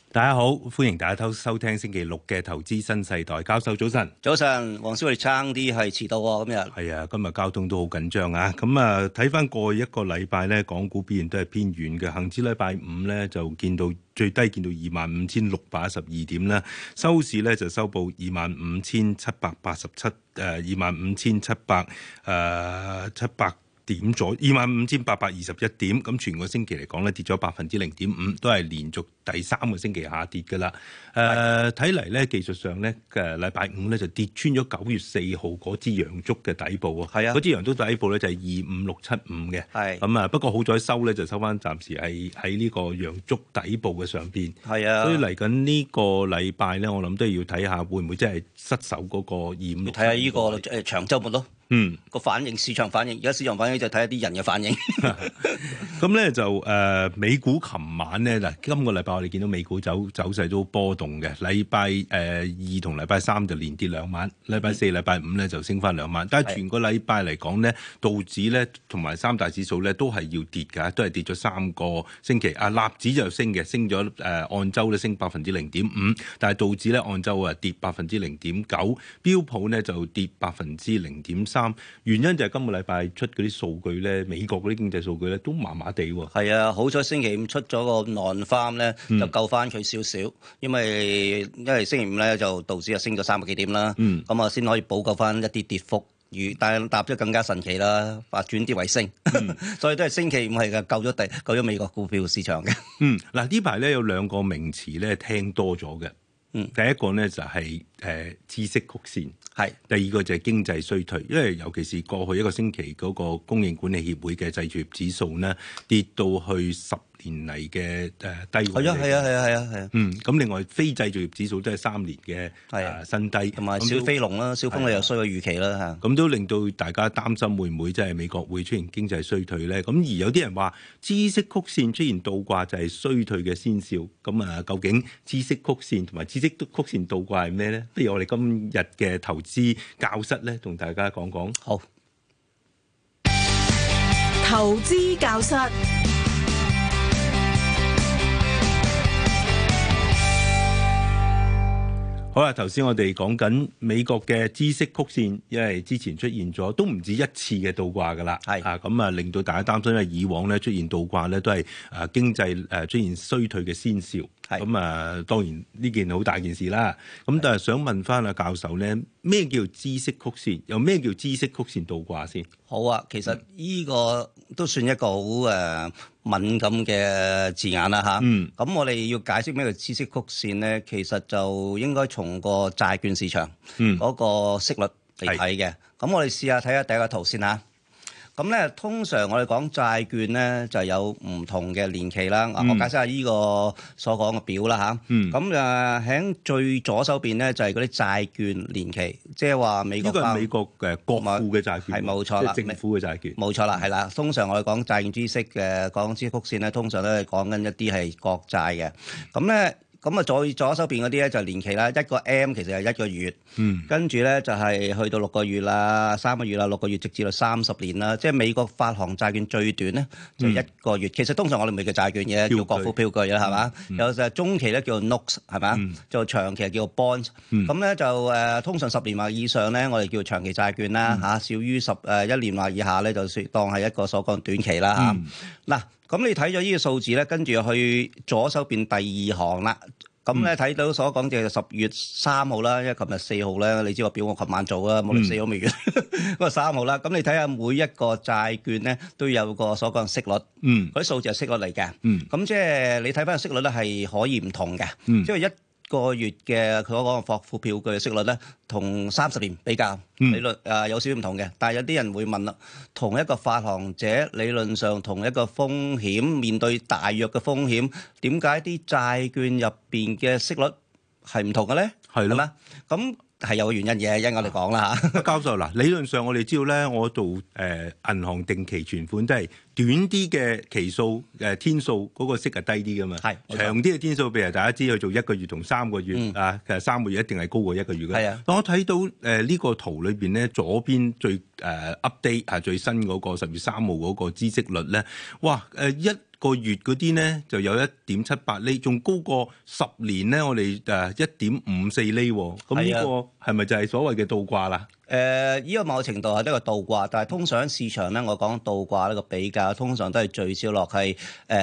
大家好，歡迎大家收聽星期六嘅投資新世代。教授早晨。 早晨，黃師傅差啲係遲到喎，今日。 係啊，今日交通都好緊張啊。咁啊，睇翻過去一個禮拜咧，港股表現都係偏軟嘅。恒指禮拜五咧就見到最低見到25,612點啦，收市咧就收報25,787， 25,700點咗25,821點，咁全個星期嚟講咧跌咗0.5%，都係連續第3個星期下跌㗎啦。睇嚟咧技術上咧嘅禮拜五咧就跌穿咗9月4號嗰支陽燭嘅底部喎。係啊，嗰支陽燭底部咧就係25675嘅。係咁啊，不過好彩收咧就收翻，暫時係喺呢個陽燭底部嘅上邊。係啊，所以嚟緊呢個禮拜咧，我諗都要睇下會唔會真係失守嗰個256。睇下呢個長週末咯。個反應，市場反應，而家市場反應就睇下啲人嘅反應。 咁咧就美股琴晚咧嗱，今個禮拜我哋見到美股走勢都波動嘅。禮拜二同禮拜三就連跌2晚，禮拜四、禮拜五咧就升翻2晚。但係全個禮拜嚟講咧，道指咧同埋三大指數咧都係要跌㗎，都係跌咗3個星期。納指就升嘅，升咗按週咧升0.5%，但係道指咧按週跌0.9%，標普咧就跌0.3%。原因就係今個禮拜出嗰啲數據咧，美國嗰啲經濟數據咧都麻麻地喎。係啊，好彩星期五出咗個 non-farm 咧，就救翻佢少少，因為星期五咧就道指升咗300幾點啦，咁啊先可以補救翻一啲跌幅。但係踏咗更加神奇啦，轉跌為升，所以都係星期五係救咗美國股票市場嘅。 嗱呢排咧有2個名詞咧聽多咗嘅。第一個咧就係知識曲線，第二個就係經濟衰退，因為尤其是過去一個星期嗰個供應管理協會嘅製造業指數呢跌到去10年嚟嘅低位。係啊。咁另外非製造業指數都係3年嘅新低，同埋小飛龍啦，小風又衰過預期啦嚇。 咁都令到大家擔心會唔會即係美國會出現經濟衰退咧？咁而有啲人話知識曲線出現倒掛就係衰退嘅先兆。咁啊，究竟知識曲線同埋知識曲線倒掛係咩咧？不如我哋今日嘅投資教室咧，同大家講講。 好， 投資教室。 好啦，頭先我哋講緊美國嘅知識曲線，因為之前出現咗都唔止一次嘅倒掛噶啦，咁啊令到大家擔心，因為以往咧出現倒掛咧都係經濟出現衰退嘅先兆。咁啊，當然呢件好大件事啦。咁但係想問翻阿教授咧，咩叫知識曲線？又咩叫知識曲線倒掛先？ 好啊，其實呢個都算一個好敏感嘅字眼啦嚇。咁我哋要解釋咩叫知識曲線咧，其實就應該從個債券市場嗰個息率嚟睇嘅。咁我哋試下睇下第一個圖先嚇。咁咧，通常我哋講債券咧就有唔同嘅年期啦。我解釋下呢個所講嘅表啦嚇。咁喺最左手邊咧就係嗰啲債券年期，即係話美國。 呢個係美國嘅國庫嘅債券， 係冇錯啦， 即係政府嘅債券。 冇錯啦，係啦。通常我哋講債券知識嘅講知識曲線咧，通常都係講緊一啲係國債嘅。咁啊，左手邊嗰啲咧就年期啦，一個 M 其實係1個月，跟住咧就係去到6個月啦、3個月啦、6個月，直至到30年啦。即係美國發行債券最短咧就1個月。其實通常我哋唔係叫債券嘅，叫國庫票據啦，係嘛？有就係中期咧叫做 notes 係嘛？就長期係叫做 bonds。咁咧就通常10年或以上咧，我哋叫長期債券啦嚇。少於1年或以下咧，就算當係一個所講短期啦嚇。嗱。咁你睇咗呢個數字咧，跟住去左手邊第2行啦。咁咧睇到所講就係10月3號啦，因為琴日4號咧，你知個表我琴晚做啦，冇理4號未完，嗰個3號啦。咁你睇下每一個債券咧都有個所講息率，嗰啲數字係息率嚟嘅。咁即係你睇翻個息率咧係可以唔同嘅，即係1個月嘅佢嗰個國庫票據嘅息率咧，同30年比較理論有少少唔同嘅。但係有啲人會問啦，同一個發行者理論上同一個風險，面對大約嘅風險，點解啲債券入邊嘅息率係唔同嘅咧？係咯，咁係有個原因嘅，一陣我哋講啦嚇。 教授嗱，理論上我哋知道咧，我做銀行定期存款都係短啲嘅期數天數嗰個息係低啲噶嘛，長啲嘅天數，譬如大家知去做1個月同3個月其實3個月一定係高過1個月嘅。但我睇到呢個圖裏邊咧，左邊最update 最新嗰個10月3號嗰個孳息率咧，哇個月嗰啲咧就有1.78厘，仲高過10年咧，我哋1.54厘喎。咁呢個係咪就係所謂嘅倒掛啦？ 呢個某程度係一個倒掛，但係通常市場咧，我講倒掛呢個比較，通常都係聚焦落係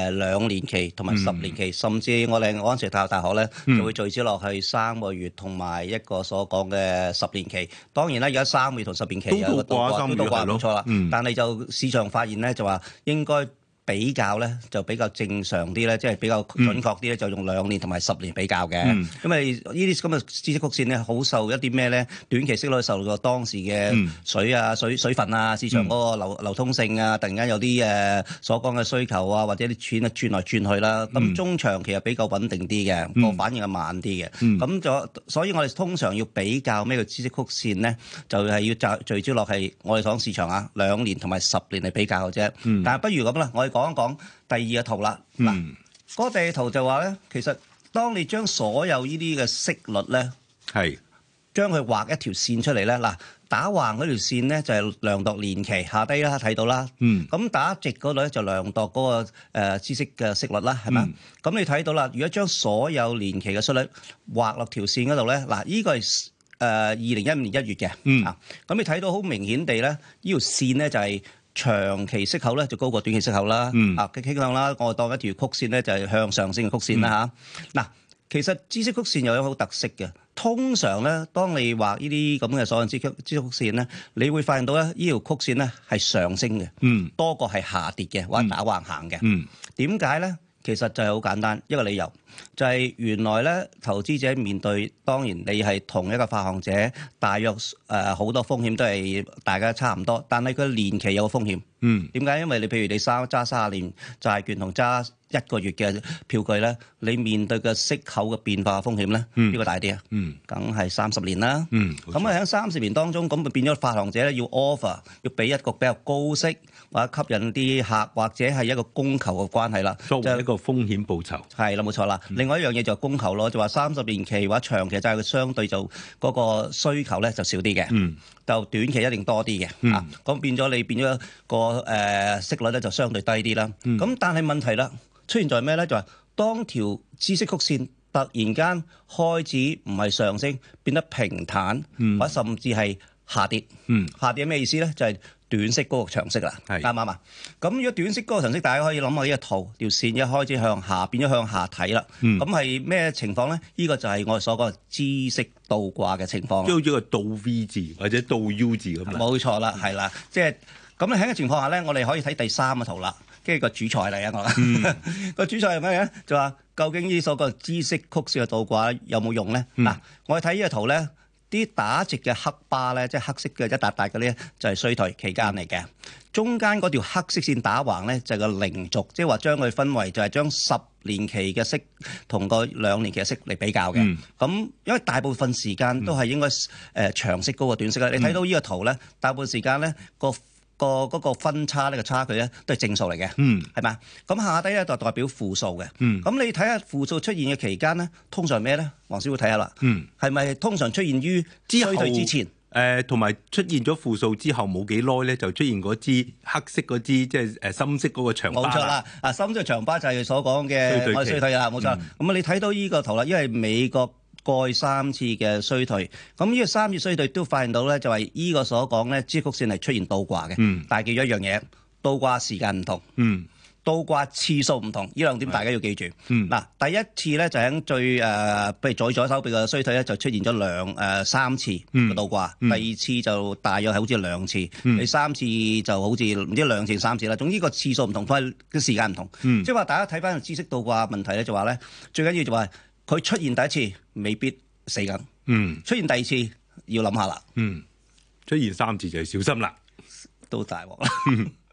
2年期同埋10年期，甚至我哋嗰陣時大學咧就會聚焦落去3個月同埋一個所講嘅10年期。當然啦，而家3個月同10年期有個倒掛，都倒掛冇錯啦。但係就市場發現咧，就話應該比較咧就比較正常啲咧，即係比較準確啲咧，就用2年同埋10年比較嘅。因為呢啲咁嘅孳息曲線咧，好受一啲咩咧？短期息率受到當時嘅水分啊，市場嗰個流通性啊，突然間有啲所講嘅需求啊，或者啲錢啊轉來轉去啦。咁中長期係比較穩定啲嘅，個反應係慢啲嘅。咁所以我哋通常要比較咩叫孳息曲線咧，就係要聚焦落係我哋講市場啊，2年同埋10年嚟比較嘅啫。但係不如咁啦，我哋講一講第二個圖啦。嗱，嗰個第二圖就話咧，其實當你將所有呢啲嘅息率咧，係將佢畫一條線出嚟咧，嗱，打橫嗰條線咧就係量度年期，下低啦睇到啦。咁打直嗰度咧就量度嗰個孳息嘅息率啦，係咪？咁你睇到啦，如果將所有年期嘅息率畫落條線嗰度咧，嗱，呢個係2015年1月嘅。咁你睇到好明顯地咧，呢條線咧就係長期息口咧就高過短期息口啦，嘅傾向啦，我當一條曲線咧就係向上升嘅曲線啦嚇。嗱，其實孳息曲線又有好特色嘅，通常咧，當你畫呢啲咁嘅所謂孳息曲線咧，你會發現到咧，呢條曲線咧係上升嘅，多過係下跌嘅或者打橫行嘅。點解咧？其實就係好簡單一個理由，就係原來咧投資者面對，當然你係同一個發行者，大約好多風險都係大家差唔多，但係佢年期有個風險。點解？因為你譬如你揸30年債券同揸1個月嘅票據咧，你面對嘅息口嘅變化風險咧，邊個大啲啊？梗係30年啦。咁啊喺30年當中，咁就變咗發行者咧要 offer， 要俾一個比較高息或者吸引啲客，或者係一個供求嘅關係啦。 作為一個風險報酬。係啦，冇錯啦。另外一樣嘢就係供求咯，就話30年期或者長期債佢相對就嗰個需求咧就少啲嘅，就短期一定多啲嘅。咁變咗你變咗個息率咧就相對低啲啦。咁但係問題啦，出現在咩咧？就係當條孳息曲線突然間開始唔係上升，變得平坦，或者甚至係下跌。下跌係咩意思咧？就係短息嗰個長息啦，啱唔啱啊？咁如果短息嗰個長息，大家可以諗下呢個圖，條線一開始向下，變咗向下睇啦。咁係咩情況咧？呢個就係我哋所講嘅孳息倒掛嘅情況。 即係好似個倒 V 字或者倒 U 字咁啦。 冇錯啦，係啦，即係咁喺呢個情況下咧，我哋可以睇第三個圖啦。跟住個主菜嚟啊！我個主菜係咩嘅？就話究竟呢所謂孳息曲線嘅倒掛有冇用咧？嗱，我哋睇呢個圖咧，啲打直嘅黑巴咧，即係黑色嘅一笪笪嗰啲，就係衰退期間嚟嘅。中間嗰條黑色線打橫咧，就係個零軸，即係話將佢分為就係將10年期嘅息同個2年期嘅息嚟比較嘅。咁因為大部分時間都係應該長息高過短息啦。你睇到呢個圖咧，大部分時間咧嗰個分差呢個差距咧都係正數嚟嘅，係嘛？咁下低咧就代表負數嘅。咁你睇下負數出現嘅期間咧，通常咩咧？黃師傅睇下啦，係咪通常出現於衰退之前？ 同埋出現咗負數之後冇幾耐咧，就出現嗰支黑色嗰支即係深色嗰個長巴。 冇錯啦，深色長巴就係所講嘅衰退啦，冇錯。咁你睇到呢個圖啦，因為美國過去3次嘅衰退，咁呢個3次衰退都發現到咧，就係呢個所講咧，孳息曲線係出現倒掛嘅。但係記咗一樣嘢，倒掛時間唔同，倒掛次數唔同，呢2點大家要記住。嗱，第一次咧就喺最譬如左手邊嘅衰退咧，就出現咗3次嘅倒掛。第二次就大約係好似2次，第三次就好似唔知2次3次啦。總之個次數唔同，同埋嘅時間唔同。即係話大家睇翻孳息倒掛問題咧，就話咧最緊要就話佢出現第一次未必死緊，出現第二次要諗下啦， 出現3次就係小心啦， 都大鑊啦。